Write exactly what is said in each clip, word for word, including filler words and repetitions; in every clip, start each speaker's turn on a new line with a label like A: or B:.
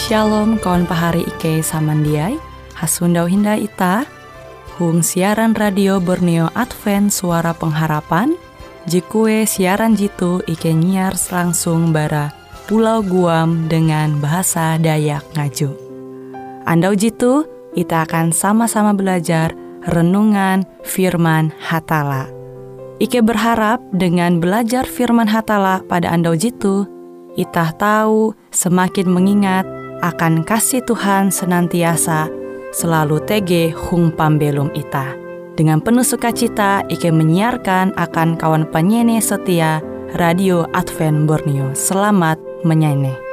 A: Shalom kawan pahari Ike samandiai, hasundau hinda ita, hung siaran radio Borneo Advent Suara Pengharapan, jikue siaran jitu Ike nyiar langsung bara Pulau Guam dengan bahasa Dayak Ngaju. Andau jitu, kita akan sama-sama belajar renungan firman Hatala. Ike berharap dengan belajar firman Hatala pada andau jitu, kita tahu semakin mengingat akan kasih Tuhan senantiasa selalu tege hung pambelum ita. Dengan penuh sukacita, Ike menyiarkan akan kawan penyanyi setia Radio Advent Borneo. Selamat menyanyi.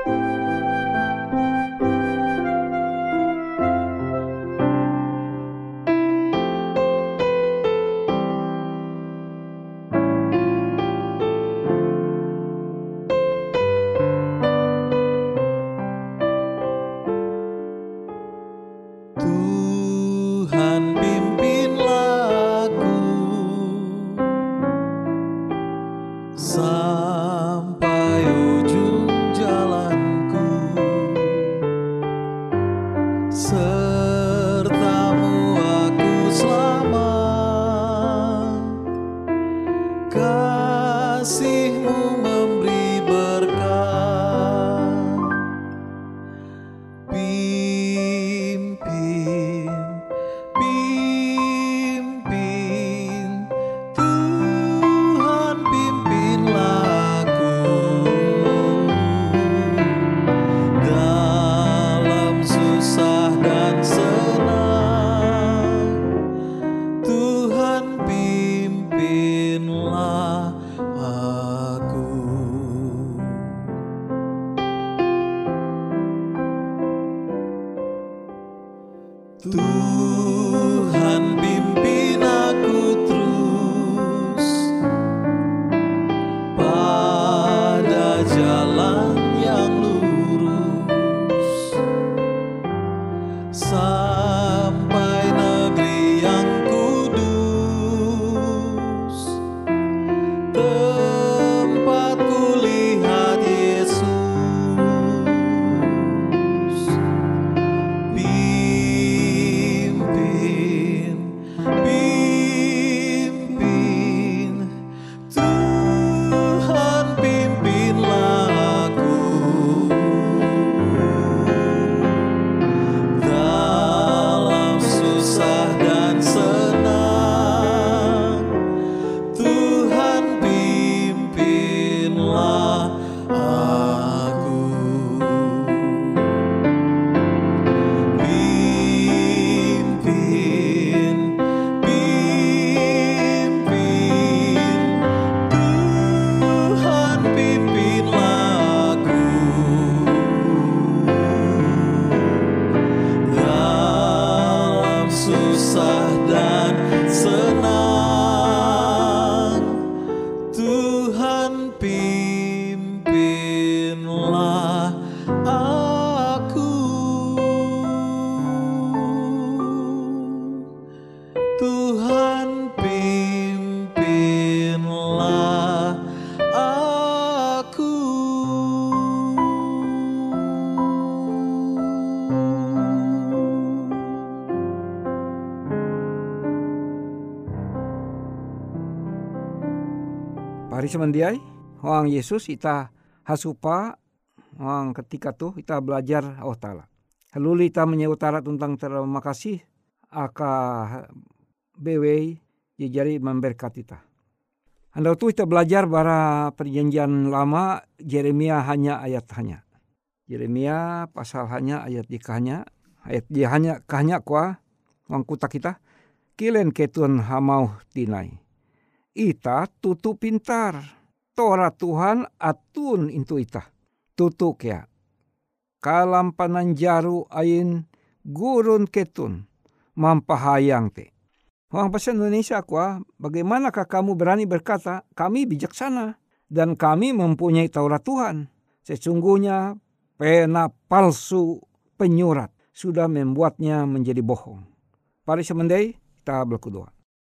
B: Tuhan pimpin aku terus pada jalan yang lurus sampai negeri yang kudus, tempat kulihat Yesus.
C: Pari semendiai, Wang Yesus ita hasupa, Wang ketika tuh kita belajar Allah Ta'ala. Lalu kita menyeutara tentang terima kasih, aka bewei jari memberkati kita. Anda tuh kita belajar bara perjanjian lama, Yeremia hanya ayat hanya. Yeremia pasal hanya ayat dikahnya, ayat dia hanya kahnya kuah, Wang kuta kita, kilen ketun hamau tinai. Ita tutu pintar, Torah Tuhan atun intu ita, tutu kea. Kalam pananjaru ain gurun ketun, mampahayang te. Orang bahasa Indonesia kuah, bagaimanakah kamu berani berkata, kami bijaksana dan kami mempunyai Taurat Tuhan. Sesungguhnya pena palsu penyurat sudah membuatnya menjadi bohong. Pari semendai kita berdoa.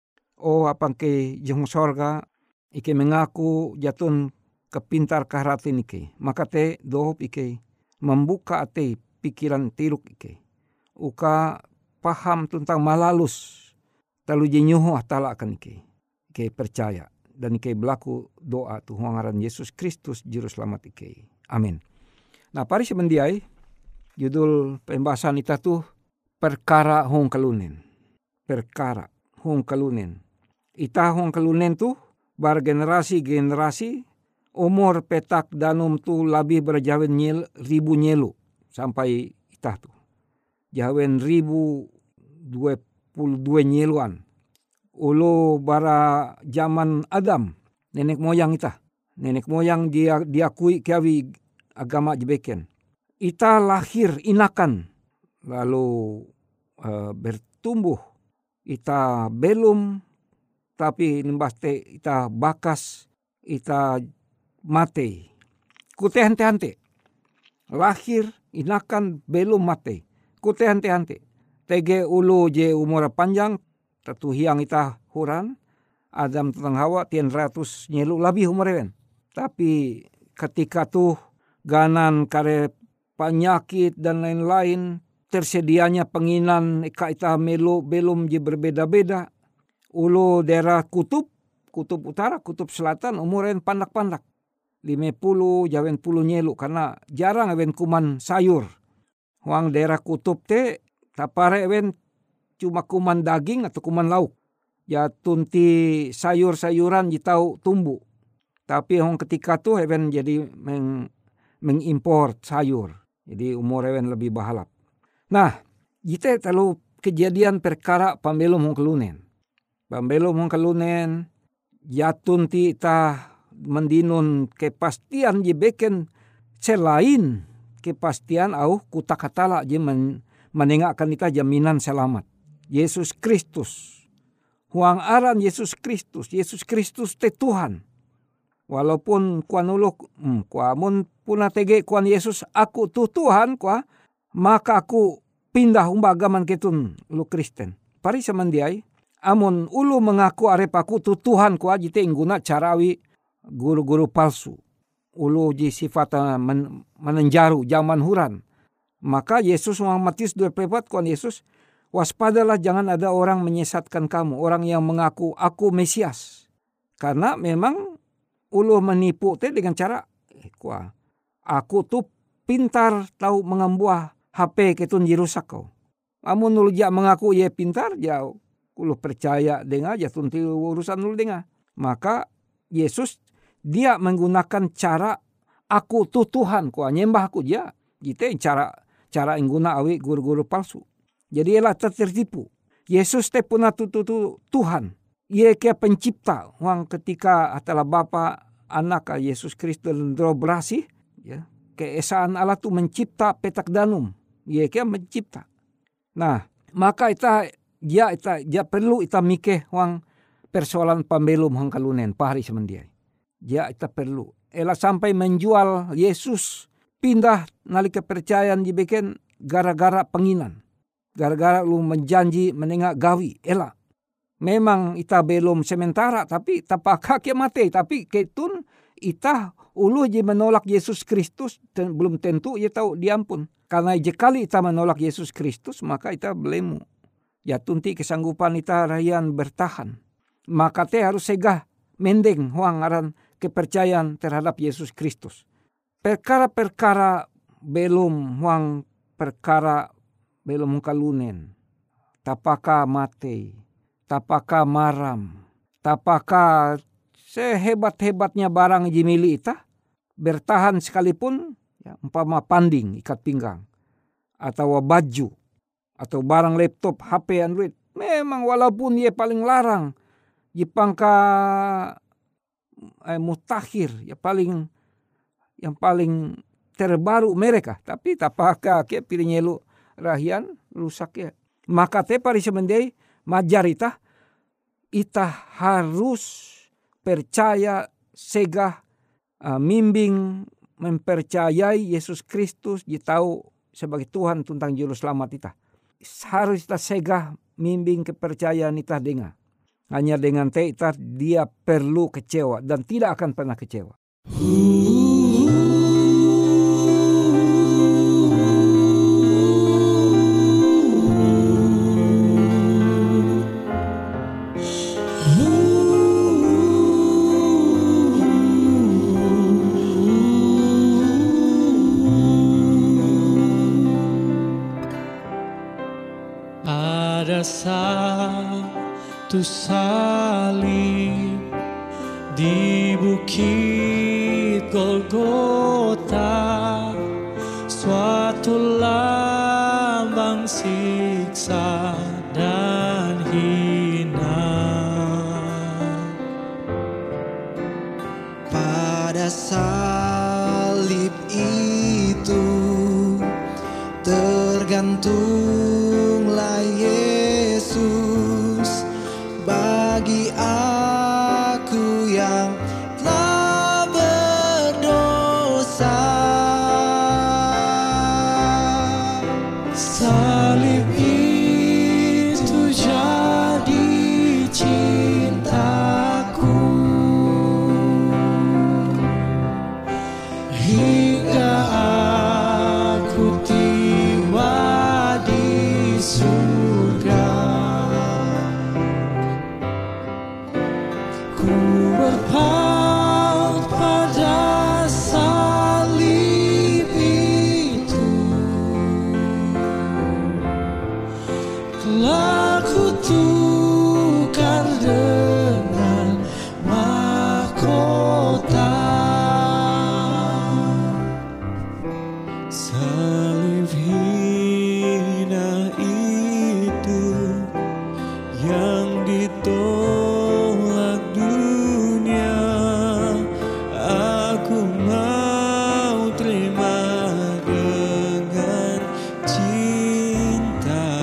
C: Oh apang ke jeng sorga ike mengaku jatun kepintar kahratin ike. Maka te dohop ike membuka ate pikiran tiruk ike. Uka paham tentang malalus. Talu jenyuhu atala akan ike. Ike percaya. Dan ike berlaku doa Tuhan ngaran Yesus Kristus Juru Selamat ike. Amin. Nah pari semendiai. Judul pembahasan kita tuh perkara hong kalunen. Perkara hong kalunen. Ita hong kalunen tuh bar generasi-generasi umur petak danum tu lebih berjawen nyel, ribu nyelu sampai itah tu. Jawen ribu dua puluh dua nyeluan. Ulu bara zaman Adam, nenek moyang itah. Nenek moyang dia diakui kiawi agama jebeken. Ita lahir inakan lalu uh, bertumbuh. Ita belum tapi nembas te ita bakas ita mate. Kute hante-hante. Lahir, inakan, belum mate. Kute hante-hante. Tege ulu je umur panjang. Tatu hiang ita huran. Adam tentang Hawa tian ratus nyelu lebih umur even. Tapi ketika tuh ganan kare penyakit dan lain-lain. Tersedianya penginan ika ita melu belum je berbeda-beda. Ulu daerah kutub. Kutub utara, kutub selatan umuren pandak-pandak. lima puluh jawen puluh nyelu karena jarang ewen kuman sayur. Huang daerah kutub te tapare ewen cuma kuman daging atau kuman lauk. Ya tunti sayur-sayuran jitau tumbuh. Tapi huang ketika tu ewen jadi meng, mengimport sayur. Jadi umur ewen lebih bahalap. Nah, jite talu kejadian perkara pambelum huang kelunen. Pambelum huang kelunen ya tunti tah mendinun kepastian je beken selain kepastian au kutak hatala je men, menengakkan ita jaminan selamat. Yesus Kristus. Huang aran Yesus Kristus. Yesus Kristus te Tuhan. Walaupun kuan uluk, hmm, kuamun puna tege kuan Yesus aku tu Tuhan kua, maka aku pindah umba agaman ketun lu Kristen. Pari samandiai, amun ulu mengaku arep aku tu Tuhan kua jite ingguna carawi guru-guru palsu. Ulu ji sifat men, menenjaru zaman huran. Maka Yesus Matius dua puluh empat kuan Yesus, waspadalah jangan ada orang menyesatkan kamu. Orang yang mengaku aku Mesias. Karena memang ulu menipu te dengan cara eh, kuah. Aku tuh pintar tahu mengambuah H P ketun jirusak kau. Amun ulu jak mengaku ye pintar jauh. Ulu percaya dengar jatun ti urusan ulu dengar. Maka Yesus dia menggunakan cara aku tuh Tuhan kuah nyembah aku dia. Gitu cara cara ingguna awi guru-guru palsu. Jadi ialah tertipu. Yesus te puna tu tu tu Tuhan. Ia kia pencipta. Wang ketika adalah Bapa anak Yesus Kristus berasi, ya, keesaan Allah tu mencipta petak danum. Ia kia mencipta. Nah, maka ita dia ita dia perlu ita mikeh wang persoalan pambelum hang kalunen pahari semendiai. Dia ita perlu. Ela sampai menjual Yesus pindah nalika percayaan dibeken gara-gara penginan. Gara-gara lu menjanji menengak gawi. Ela. Memang ita belum sementara tapi tapaka ke mate. Tapi ketun ita ulu je menolak Yesus Kristus dan belum tentu ia tahu diampun. Karena jekali ita menolak Yesus Kristus maka ita belemu. Ya tunti kesanggupan ita rayan bertahan. Maka te harus segah mendeng huang aran kepercayaan terhadap Yesus Kristus. Perkara-perkara belum huang perkara belum kalunen. Tapaka mate. Tapaka maram. Tapaka sehebat-hebatnya barang jimili ita. Bertahan sekalipun. Ya, umpama panding ikat pinggang. Atau baju. Atau barang laptop, H P, Android. Memang walaupun ia paling larang. Jepangka eh, mutakhir. Ya paling yang paling terbaru mereka. Tapi tapaka ke pilihnya lu rahian rusak ya. Maka te pari semendai majar ita. Ita harus percaya segah uh, mimbing mempercayai Yesus Kristus. Dia tahu sebagai Tuhan tentang juru selamat ita. Harus ita segah mimbing kepercayaan ita dengar. Hanya dengan te ita dia perlu kecewa dan tidak akan pernah kecewa.
B: Yesus salib di bukit Golgota, suatu lambang siksa dan hina.
D: Pada salib itu tergantunglah Yesus bagi aku yang telah berdosa.
B: Salib itu jadi cintaku hingga aku tiba di surga. Ku berpaut pada salib itu, telah kutukar dengan mahkota. Salib hina itu yang ditolak dunia, aku mau terima dengan cinta.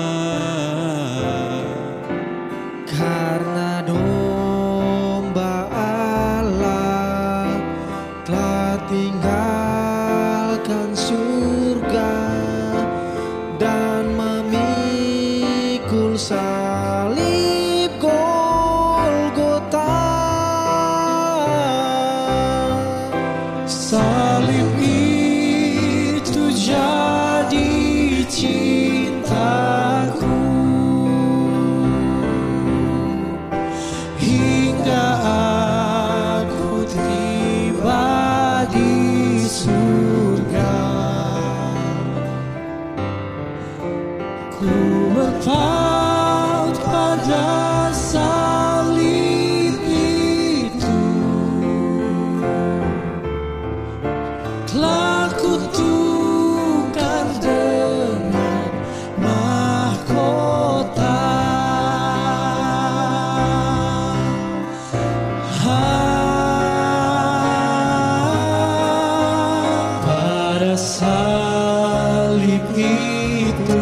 D: Karena domba Allah telah tinggalkan surga dan memikul salib Golgota.
B: Salib itu jadi cintaku hingga aku tiba di surga. Ku berpaut pada salib itu, telah kutukar dengan mahkota. Pada salib itu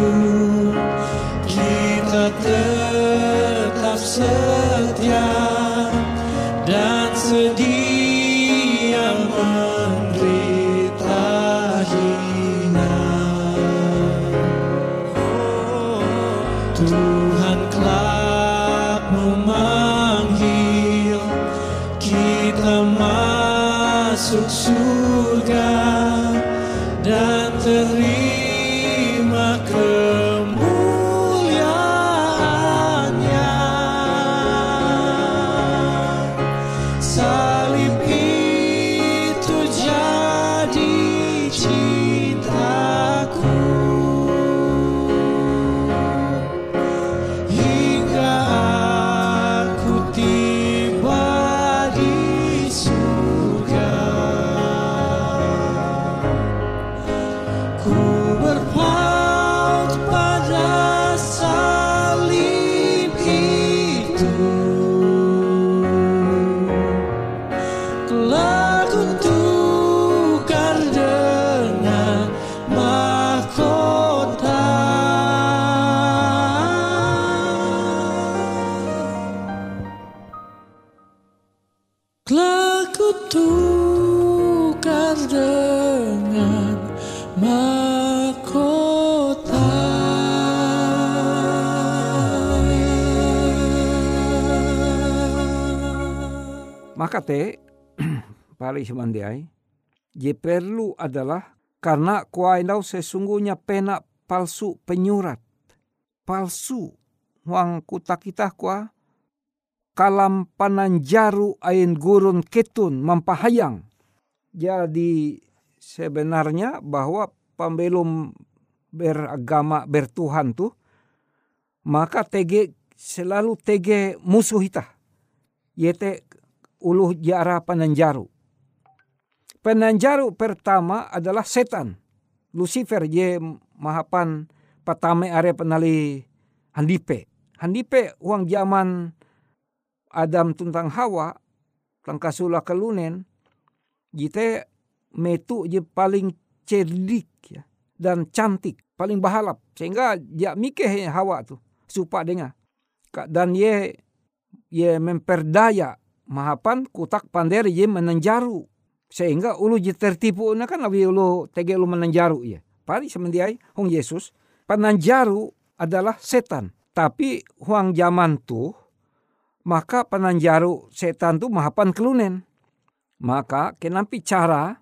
B: kita tetap setia dan sedia menderita hina. Tuhan kelak memanggil kita masuk surga dan terima kemuliaannya. Salib itu jadi cintaku hingga aku tiba di surga. Ku berpaut pada salib itu, telah kutukar dengan mahkota. Telah kutukar dengan mahkota.
C: Maka te pari semandiai je perlu adalah karena kuainau sesungguhnya pena palsu penyurat palsu huang kuta kita kua kalam pananjaru ain gurun ketun mampahayang. Jadi sebenarnya bahwa pembelum beragama bertuhan tuh maka tege selalu tege musuh ita. Yete uluh jara penanjaru. Penanjaru pertama adalah setan. Lucifer je mahapan patame are penali handipe. Handipe uang zaman Adam tuntang Hawa tangkasula kelunen jite metu je paling cerdik ya, dan cantik, paling bahalap sehingga dia mikeh Hawa tu supa denga. Dan ye ye memperdaya mahapan kutak panderi ye menanjaru sehingga ulu je tertipu na kan awi ulu tege ulu menanjaru ye. Pari semendiai hong Yesus penanjaru adalah setan. Tapi huang zaman tu maka penanjaru setan tu mahapan kelunen. Maka kenampi cara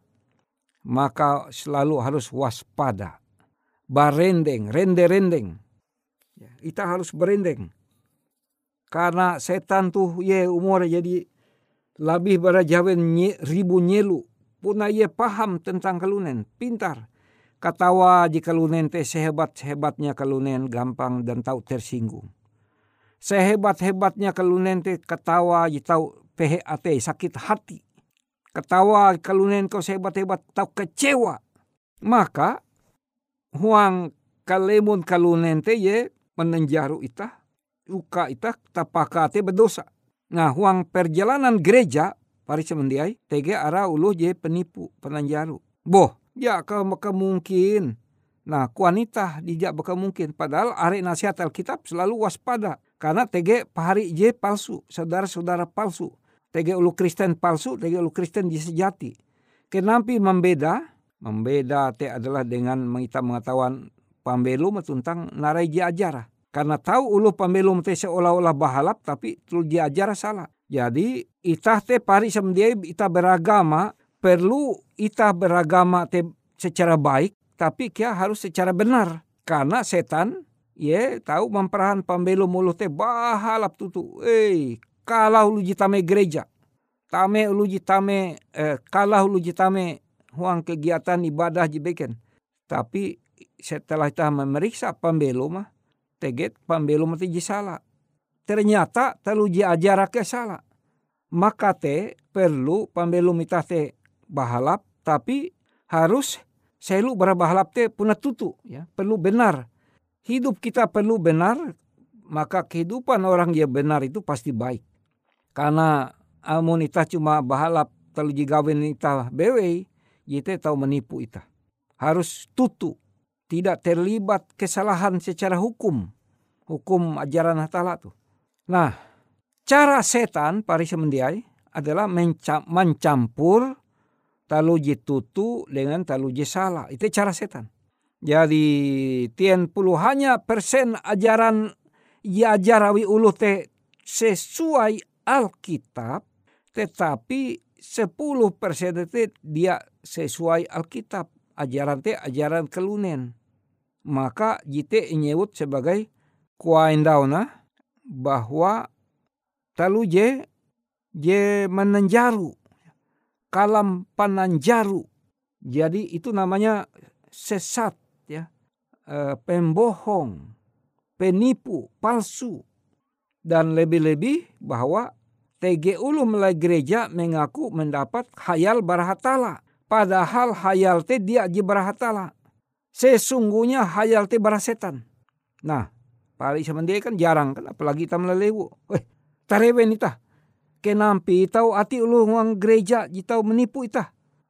C: maka selalu harus waspada. Barendeng, rende-rendeng. Kita harus berendeng. Karena setan tuh ye umur jadi lebih berajawen nye, ribu nyelu. Puna ye paham tentang kelunen, pintar. Katawa jika kelunen teh sehebat-hebatnya kelunen gampang dan tahu tersinggung. Sehebat-hebatnya kelunen teh ketawa je tahu P H A T, sakit hati. Ketawa kelunen kau sehebat-hebat tahu kecewa. Maka huang kalemun kelunen teh ye menenjaru itah. Uka itah tapaka te berdosa. Nah huang perjalanan gereja pari semendiai tege ara uluh je penipu penanjaru. Boh ya kau maka mungkin. Nah kuanita dijak baka mungkin. Padahal are nasihat Alkitab selalu waspada. Karena tege pahari je palsu. Saudara-saudara palsu. Tege ulu Kristen palsu. Tege ulu Kristen je sejati. Kenampi membeda. Membeda te adalah dengan kita mengetahuan pambelum tentang narai je ajarah. Karena tahu ulu pambelum te seolah-olah bahalap tapi tul dia ajar salah. Jadi itah te pari semendiai ita beragama perlu ita beragama te secara baik tapi kia harus secara benar. Karena setan ye tahu memperahan pambelum ulu te bahalap tutu. Eh kalah ulu jitame gereja. Tame ulu jitame eh, kalah ulu jitame huang kegiatan ibadah jibeken. Tapi setelah ita memeriksa pambelum mah teget pambelum mati ji salah. Ternyata telu ji ajarak ke salah. Maka te perlu pambelum itah te bahalap tapi harus selu berabahalap te puna tutu ya, perlu benar. Hidup kita perlu benar, maka kehidupan orang yang benar itu pasti baik. Karena amun itah cuma bahalap telu ji gawen itah bewe, jite tahu menipu itah. Harus tutu. Tidak terlibat kesalahan secara hukum. Hukum ajaran hatala tuh. Nah, cara setan pari semendiai adalah mencam, mencampur taluji tutu dengan taluji salah. Itu cara setan. Jadi tien puluhannya persen ajaran ya ajarawi ulu te sesuai Alkitab. Tetapi sepuluh persen itu dia sesuai Alkitab. Ajaran te ajaran kelunen. Maka jite nyebut sebagai kuaindauna bahwa talu je je menanjaru. Kalam pananjaru. Jadi itu namanya sesat ya. E, pembohong, penipu, palsu. Dan lebih-lebih bahwa T G ulu mulai gereja mengaku mendapat khayal barahatala. Padahal hayal te dia je barahatala. Sesungguhnya hayal te barasetan. Nah, pari semendiai kan jarang kan. Apalagi kita melelewu. Weh, tarewen itah. Kenampi itau ati ulu nguang gereja jitau menipu itah.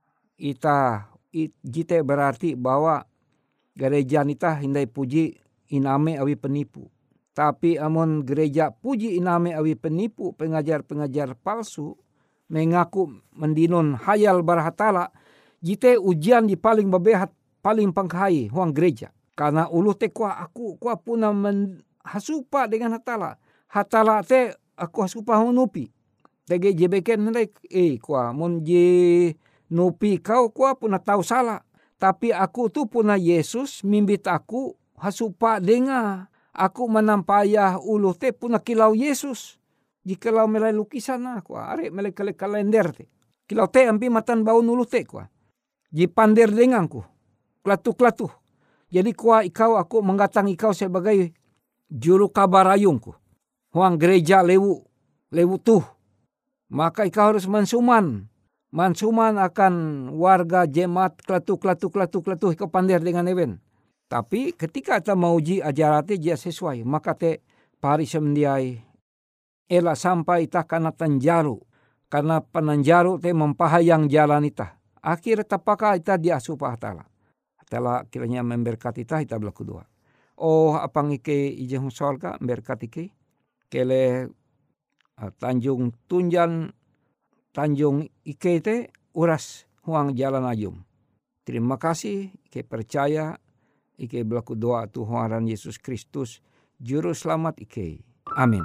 C: Itah, it, jite berarti bahwa gereja nitah hindai puji iname awi penipu. Tapi amun gereja puji iname awi penipu, pengajar-pengajar palsu, mengaku mendinun hayal barahatala, jite ujian di paling babehat, paling pangkai huang gereja. Karena ulu te kuah aku, kuah puna hasupa dengan hatala. Hatala te aku hasupa hunupi. Tege jebeken nilai, eh kuah mun je nupi kau kuah puna tahu salah. Tapi aku tu puna Yesus mimbit aku hasupa denga. Aku menampayah ulu te puna kilau Yesus. Jikalau melai lukisan aku, are melai kalender te. Kilau te ampi matan bau nulu te kuah. Jipander denganku, klatu-klatu. Jadi kuah ikau aku menggatang ikau sebagai juru kabarayungku. huang gereja lewu, lewu tuh. Maka ika harus mansuman. Mansuman akan warga jemaat kletu kletu kletu kletu ika pandir dengan ewen. Tapi ketika kita mauji ajarate dia sesuai. Maka te pari semendiai ela sampai ita kana tanjaru. Karena penanjaru te mempahayang jalan ita. Akhir tapaka ita diasupah tala. Tala kiranya memberkati ita ita berlaku dua. Oh apang ike ijeng solka memberkati ke. Kele uh, Tanjung Tunjan Tanjung ike te uras huang jalan ajum. Terima kasih ike percaya ike berlaku doa Tuhan Yesus Kristus juru selamat ike. Amin.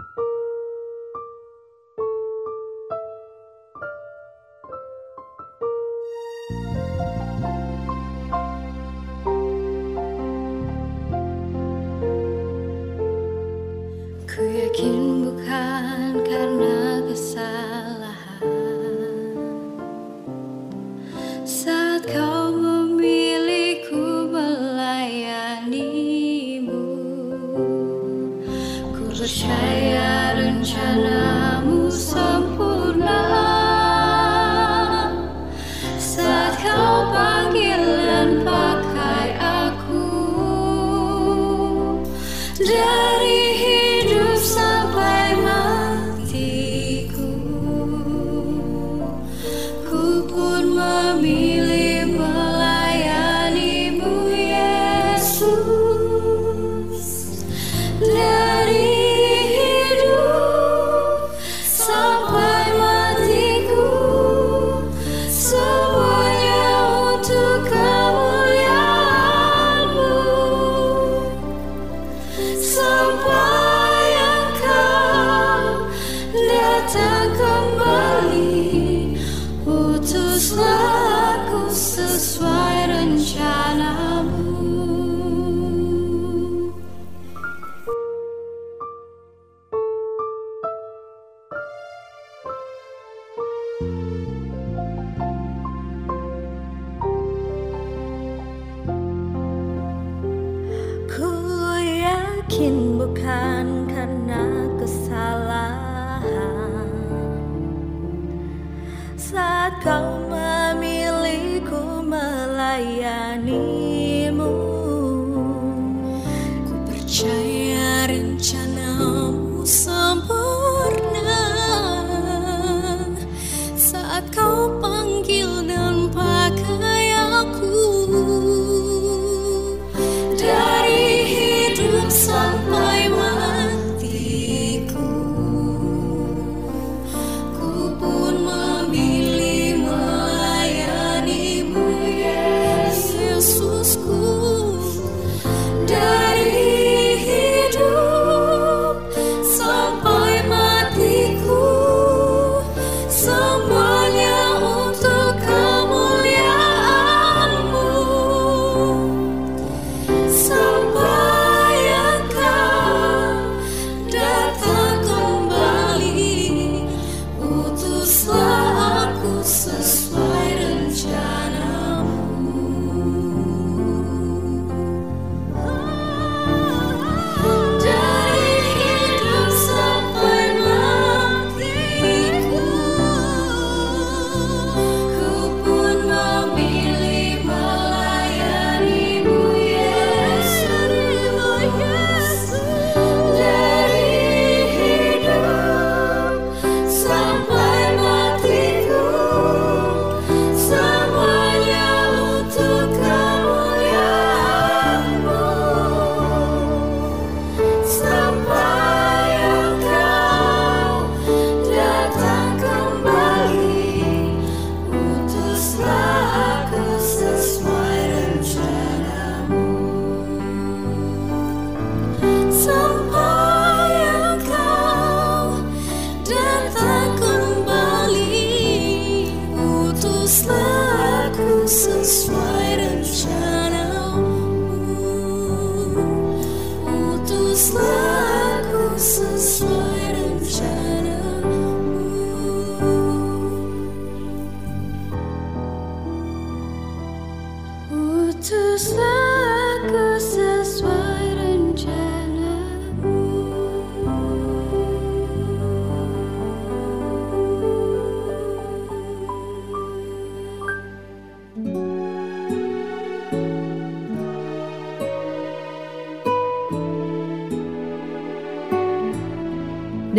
E: Ku yakin bukan karena kesalahan saat kau memilihku melayanimu. Ku percaya rencanamu sempurna saat kau panggil dan pakai aku dari sampai matiku. Ku pun memilih melayanimu Yesus. Dari hidup sampai matiku, semuanya untuk kemuliaan-Mu. Sampai datang kembali, utuslah aku sesuai rencanamu.
F: Ku yakin bukan karena kesalahan saat kau memilihku melayanimu.
E: Ku percaya rencanamu sempurna saat kau panggil dan pakai aku dari hidup sampai matiku. Ku pun memilih melayanimu Yesus.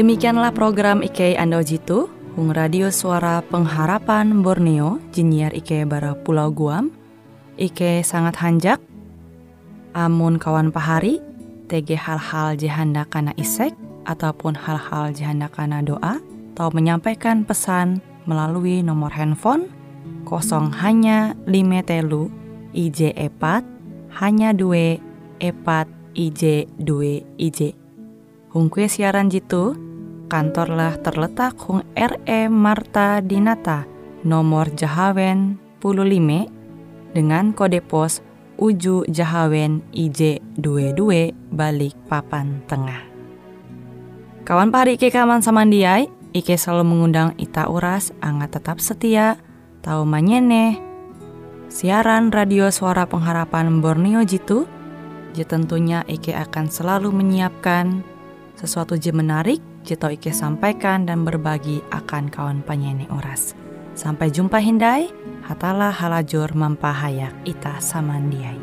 A: Demikianlah program Ike Ando Jitu, Hung Radio Suara Pengharapan Borneo, Jinnyar Ike bara Pulau Guam. Ike sangat hanjak, amun kawan pahari, tege hal-hal jihanda kana isek, ataupun hal-hal jihanda kana doa, atau menyampaikan pesan melalui nomor handphone kosong hanya lima telu I J epat hanya dua epat I J dua I J. Hung kue siaran jitu, kantorlah terletak Hung R E Marta Dinata, nomor Jahawen puluh lima, dengan kode pos Uju Jahawen I J dua dua balik papan tengah. Kawan pahari Ike kaman samandiai, Ike selalu mengundang ita uras, angga tetap setia, tahu manyene, siaran radio Suara Pengharapan Borneo jitu, je tentunya Ike akan selalu menyiapkan sesuatu je menarik, je tau Ike sampaikan dan berbagi akan kawan penyanyi uras. Sampai jumpa hindai, hatalah halajur mampahayak ita samandiai.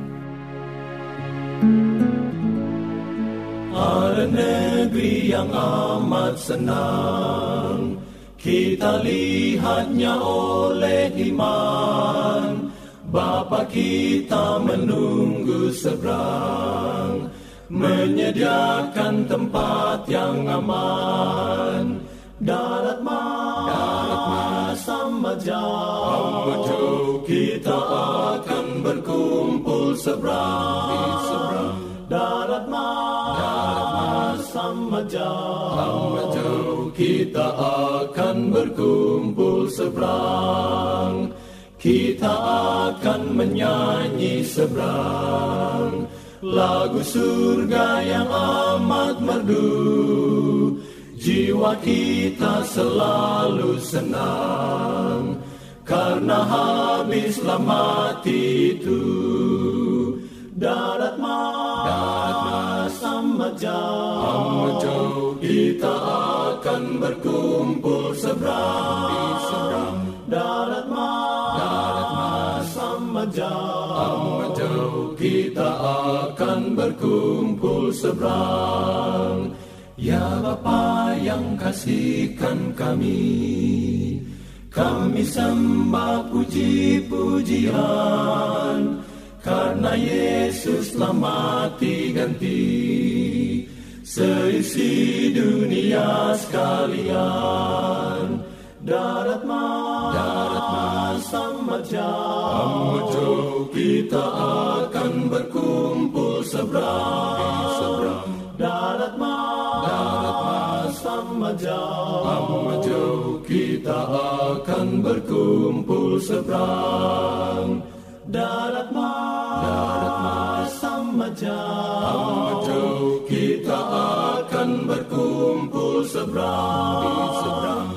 B: Ada negeri yang amat senang, kita lihatnya oleh iman. Bapa kita menunggu seberang, menyediakan tempat yang aman. Darat mas, darat mas amat jauh, kita akan berkumpul seberang. Darat mas, darat mas amat jauh, kita akan berkumpul seberang. Kita akan menyanyi seberang lagu surga yang amat merdu. Jiwa kita selalu senang, karena habislah mati itu. Darat mas, darat mas amat jauh, kita akan berkumpul seberang. Darat mas, darat mas amat jauh, kita akan berkumpul seberang. Ya Bapa yang kasihkan kami, kami sembah puji-pujian, karena Yesus telah mati ganti seisi dunia sekalian. Darat mas, darat mas amat jauh, kita akan berkumpul seberang. Darat mas, darat mas amat jauh, kita akan berkumpul seberang. Darat mas, darat mas amat jauh, kita akan berkumpul seberang.